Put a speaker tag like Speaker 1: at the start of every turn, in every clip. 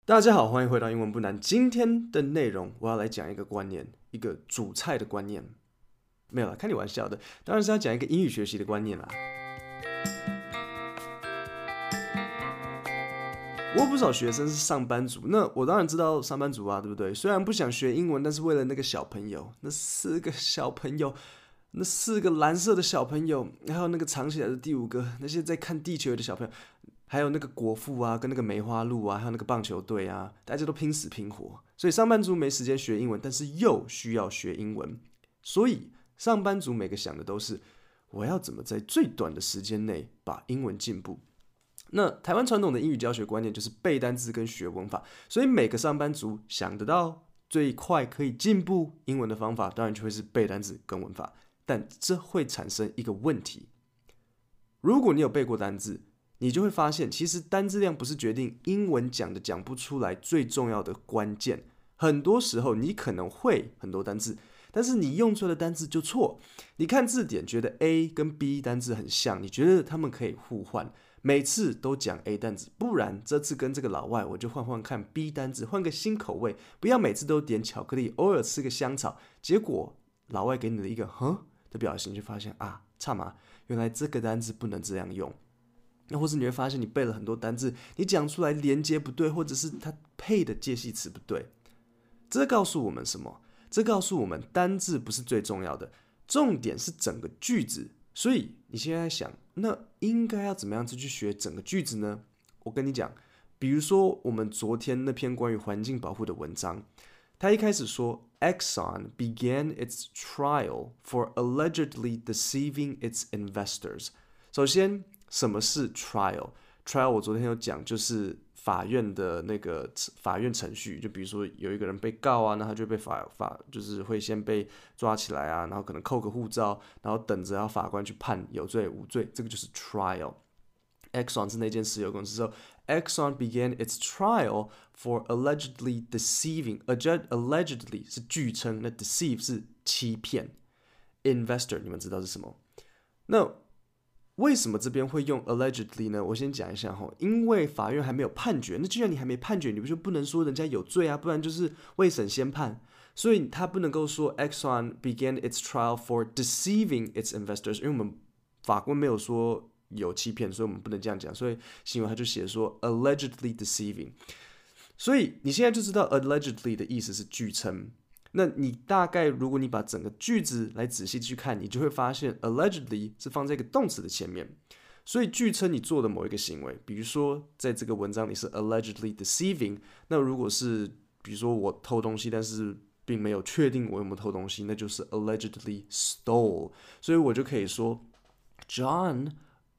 Speaker 1: 大家好，歡迎回到英文不難。今天的內容我要來講一個觀念，一個煮菜的觀念。沒有啦，開你玩笑的，當然是要講一個英語學習的觀念啦。我有不少學生是上班族，那我當然知道上班族啊，對不對？雖然不想學英文，但是為了那個小朋友，那4個小朋友，那4個藍色的小朋友，還有那個藏起來的第5個，那些在看地球的小朋友。還有那個國父啊，跟那個梅花鹿啊，還有那個棒球隊啊，大家都拼死拼活。所以上班族沒時間學英文，但是又需要學英文。所以上班族每個想的都是，我要怎麼在最短的時間內把英文進步。那台灣傳統的英語教學觀念就是背單字跟學文法，所以每個上班族想得到最快可以進步英文的方法，當然就會是背單字跟文法。但這會產生一個問題，如果你有背過單字，你就會發現，其實單字量不是決定英文講的講不出來最重要的關鍵。很多時候你可能會很多單字，但是你用出來的單字就錯。你看字典覺得 A 跟 B 單字很像，你覺得他們可以互換，每次都講 A 單字，不然這次跟這個老外我就換換看 B 單字，換個新口味，不要每次都點巧克力，偶爾吃個香草。結果老外給你的一個的表情，就發現啊，差嘛，原來這個單字不能這樣用。那或是你會發現，你背了很多單字，你講出來連接不對，或者是它配的介系詞不對。這告訴我們什麼？這告訴我們單字不是最重要的，重點是整個句子。所以你現在想，那應該要怎麼樣子去學整個句子呢？我跟你講，比如說我們昨天那篇關於環境保護的文章，他一開始說 Exxon began its trial for allegedly deceiving its investors。首先，什麼是 trial？trial 我昨天有講，就是法院的那個法院程序。就比如說有一個人被告啊，那他就被就是會先被抓起來啊，然後可能扣個護照，然後等着要法官去判有罪無罪，這個就是 trial。Exxon 是那件石油公司之後 ，Exxon began its trial for allegedly deceiving。allegedly 是據稱，那 deceive 是欺騙。investor 你們知道是什麼？那為什麼這邊會用 allegedly 呢？我先講一下哈，因為法院還沒有判決。那既然你還沒判決，你就不能說人家有罪啊，不然就是未審先判。所以他不能夠說 Exxon began its trial for deceiving its investors，因為我們法官沒有說有欺騙，所以我們不能這樣講。所以新聞他就寫說 allegedly deceiving。所以你現在就知道 allegedly 的意思是據稱。那你大概如果你把整個句子來仔細去看，你就會發現 allegedly 是放在一個動詞的前面，所以據稱你做的某一個行為，比如說在這個文章裡是 allegedly deceiving， 那如果是比如說我偷東西，但是並沒有確定我有沒有偷東西，那就是 allegedly stole， 所以我就可以說 John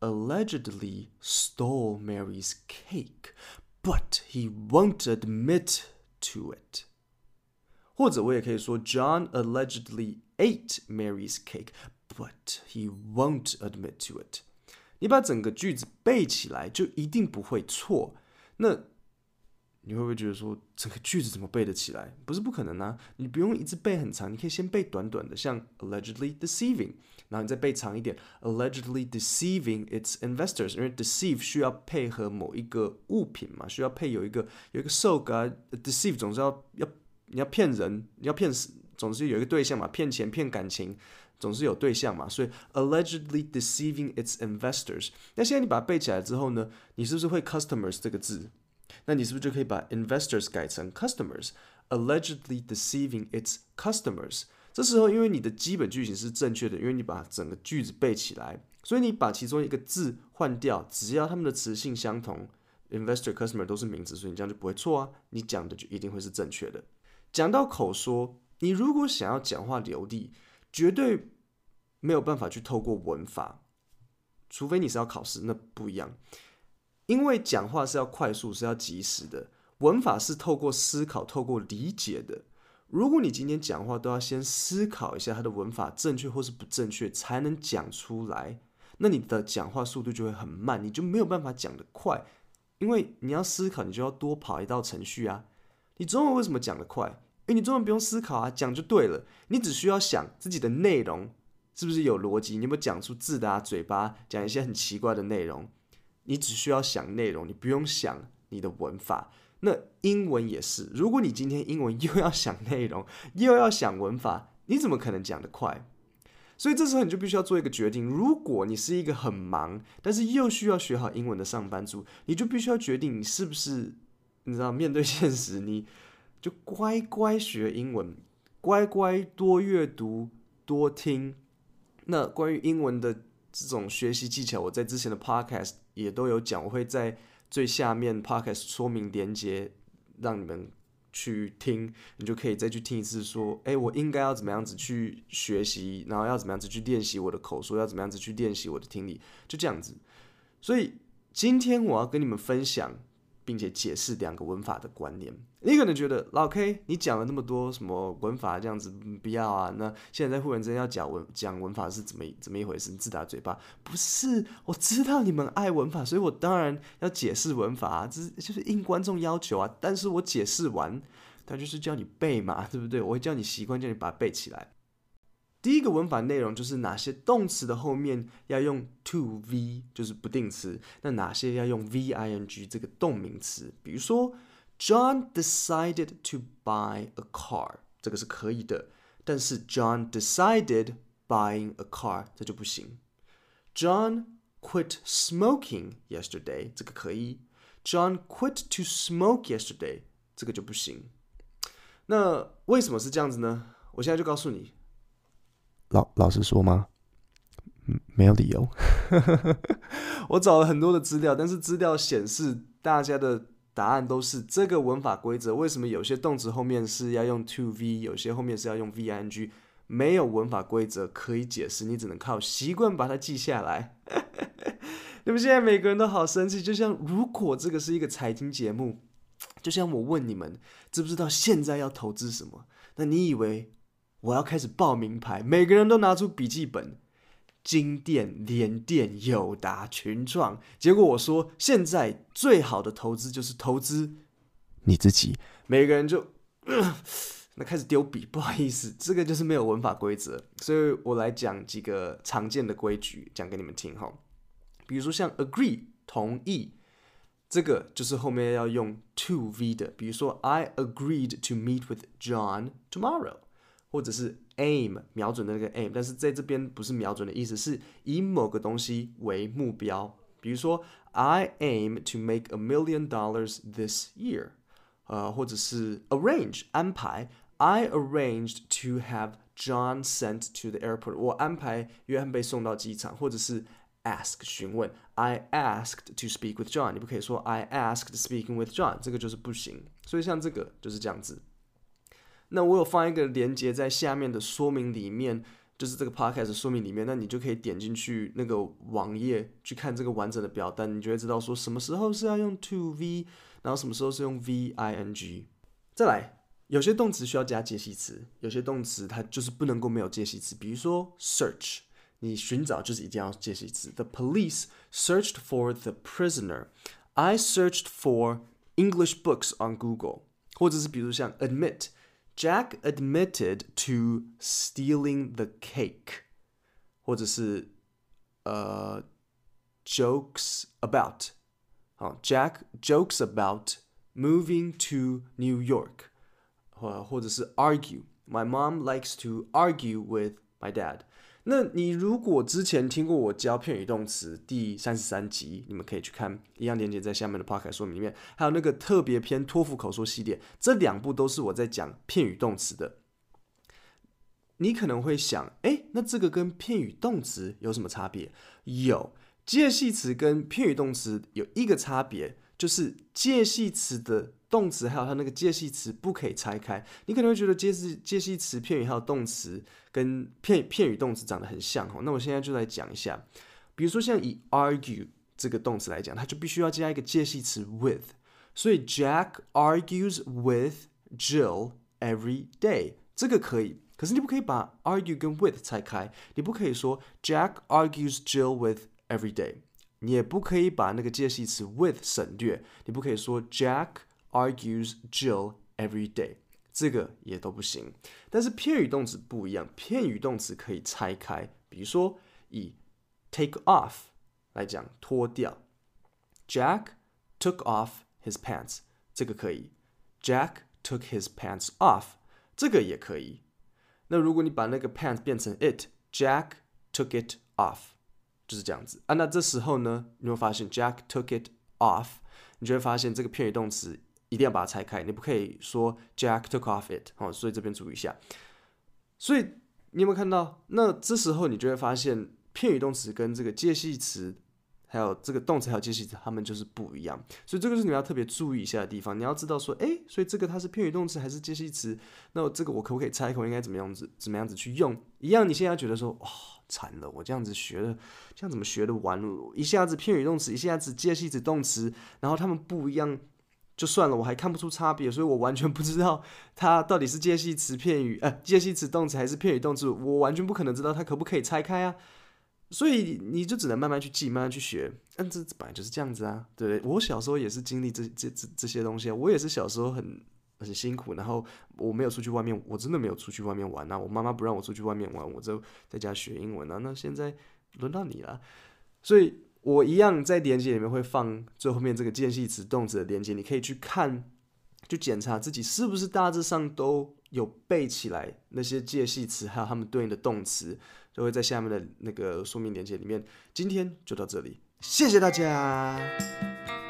Speaker 1: allegedly stole Mary's cake, but he won't admit to it。或者我也可以說 John allegedly ate Mary's cake, but he won't admit to it。 你把整個句子背起來就一定不會錯。那你會不會覺得說整個句子怎麼背得起來？不是不可能啊，你不用一直背很長，你可以先背短短的，像 allegedly deceiving， 然後你再背長一點 allegedly deceiving its investors， 因為 deceive 需要配合某一個物品嘛，需要配有一個受格啊 deceive 總是你要騙人，你要騙，總是有一個對象嘛，騙錢、騙感情，總是有對象嘛，所以 allegedly deceiving its investors。那現在你把它背起來之後呢，你是不是會 customers 這個字？那你是不是就可以把 investors 改成 customers？allegedly deceiving its customers。這時候因為你的基本句型是正確的，因為你把整個句子背起來，所以你把其中一個字換掉，只要它們的詞性相同 ，investor、customer 都是名詞，所以你這樣就不會錯啊，你講的就一定會是正確的。講到口說，你如果想要講話流利，絕對沒有辦法去透過文法，除非你是要考試，那不一樣。因為講話是要快速，是要及時的，文法是透過思考、透過理解的。如果你今天講話都要先思考一下它的文法正確或是不正確，才能講出來，那你的講話速度就會很慢，你就沒有辦法講得快。因為你要思考，你就要多跑一道程序啊。你中文為什麼講得快？因為你中文不用思考啊，講就對了。你只需要想自己的內容是不是有邏輯，你有沒有講出字的嘴巴講一些很奇怪的內容。你只需要想內容，你不用想你的文法。 那英文也是，如果你今天英文又要想內容，又要想文法，你怎麼可能講得快？所以這時候你就必須要做一個決定。如果你是一個很忙，但是又需要學好英文的上班族，你就必須要決定你是不是，你知道，面對現實，你就乖乖學英文，乖乖多閱讀、多聽。那關於英文的這種學習技巧，我在之前的 podcast 也都有講，我會在最下面 podcast 說明連結，讓你們去聽，你就可以再去聽一次，說，我應該要怎麼樣子去學習，然後要怎麼樣子去練習我的口說，要怎麼樣子去練習我的聽力，就這樣子。所以今天我要跟你們分享，並且解釋2個文法的觀念。你可能覺得老 K 你講了那麼多什麼文法這樣子，不要啊，那現在在忽然之間要講文法是怎麼一回事？你自打嘴巴？不是，我知道你們愛文法，所以我當然要解釋文法啊，這就是應觀眾要求啊。但是我解釋完，他就是叫你背嘛，對不對？我會叫你習慣，叫你把它背起來。第一個文法內容就是哪些動詞的後面要用 to V， 就是不定詞，那哪些要用 VING 這個動名詞。比如說 John decided to buy a car， 這個是可以的，但是 John decided buying a car 這就不行。John quit smoking yesterday， 這個可以。John quit to smoke yesterday， 這個就不行。那為什麼是這樣子呢？我現在就告訴你。老實說嗎？沒有理由。我找了很多的資料，但是資料顯示大家的答案都是這個文法規則。為什麼有些動詞後面是要用 to V， 有些後面是要用 VING？ 沒有文法規則可以解釋，你只能靠習慣把它記下來。你們現在每個人都好生氣，就像如果這個是一個財經節目，就像我問你們知不知道現在要投資什麼，那你以為我要開始報名牌，每個人都拿出筆記本，金電、聯電、友達、群創。結果我說，現在最好的投資就是投資你自己。每個人就那開始丟筆，不好意思，這個就是沒有文法規則。所以我來講幾個常見的規矩，講給你們聽哈。比如說像 agree 同意，這個就是後面要用 to V 的。比如說 I agreed to meet with John tomorrow。或者是 aim 瞄準的那個 aim， 但是在這邊不是瞄準的意思，是以某個東西為目標。比如說 I aim to make $1 million this year， 或者是 arrange 安排 I arranged to have John sent to the airport， 我安排約翰被送到機場。或者是 ask 詢問 I asked to speak with John， 你不可以說 I asked speaking with John， 這個就是不行。所以像這個就是這樣子。那我有放一個連結在下面的說明裡面，就是這個 podcast 的說明裡面，那你就可以點進去那個網頁去看這個完整的表單，你就會知道說什麼時候是要用 to V， 然後什麼時候是用 VING。再來，有些動詞需要加介系詞，有些動詞它就是不能夠沒有介系詞。比如說 search， 你尋找就是一定要介系詞。The police searched for the prisoner. I searched for English books on Google。或者是比如像 admit。Jack admitted to stealing the cake， 或者是jokes about， Jack jokes about moving to New York， 或者是 argue，My mom likes to argue with my dad。那你如果之前聽過我教片語動詞第33集，你們可以去看，一樣連結在下面的 podcast 說明裡面，還有那個特別篇托福口說系列，這2部都是我在講片語動詞的。你可能會想，那這個跟片語動詞有什麼差別？有，介系詞跟片語動詞有一個差別，就是介系詞的動詞還有它那個介系詞不可以拆開。你可能會覺得介系詞、片語還有動詞跟片語動詞長得很像。那我現在就來講一下。比如說像以 argue 這個動詞來講，它就必須要加一個介系詞 with。所以 Jack argues with Jill every day， 這個可以。可是你不可以把 argue 跟 with 拆開。你不可以說 Jack argues Jill with every day。你也不可以把那個介系詞 with 省略。你不可以說 Jack argues Jill every day， 這個也都不行。但是片語動詞不一樣，片語動詞可以拆開。比如說以 take off 來講，脫掉。Jack took off his pants， 這個可以。Jack took his pants off， 這個也可以。那如果你把那個 pants 變成 it，Jack took it off， 就是這樣子啊。那這時候呢，你會發現 Jack took it off， 你就會發現這個片語動詞一定要把它拆開，你不可以說 Jack took off it，所以這邊注意一下。所以你有沒有看到？那這時候你就會發現片語動詞跟這個介系詞，還有這個動詞還有介系詞，它們就是不一樣。所以這個是你們要特別注意一下的地方。你要知道說，所以這個它是片語動詞還是介系詞？那這個我可不可以拆開？我應該怎麼樣子去用？一樣，你現在覺得說，慘了，我這樣子學的，這樣怎麼學得完？一下子片語動詞，一下子介系詞動詞，然後它們不一樣。就算了，我還看不出差別，所以我完全不知道它到底是介系詞片語介系詞動詞還是片語動詞，我完全不可能知道它可不可以拆開啊。所以你就只能慢慢去記，慢慢去學。這本來就是這樣子啊，對不對？我小時候也是經歷這些東西啊，我也是小時候很辛苦，然後我沒有出去外面，我真的沒有出去外面玩啊。我媽媽不讓我出去外面玩，我就在家學英文啊。那現在輪到你了，所以。我一樣在連結裡面會放最後面這個介系詞動詞的連結，你可以去看，去檢查自己是不是大致上都有背起來那些介系詞，還有他們對應的動詞，就會在下面的那個說明連結裡面。今天就到這裡，謝謝大家。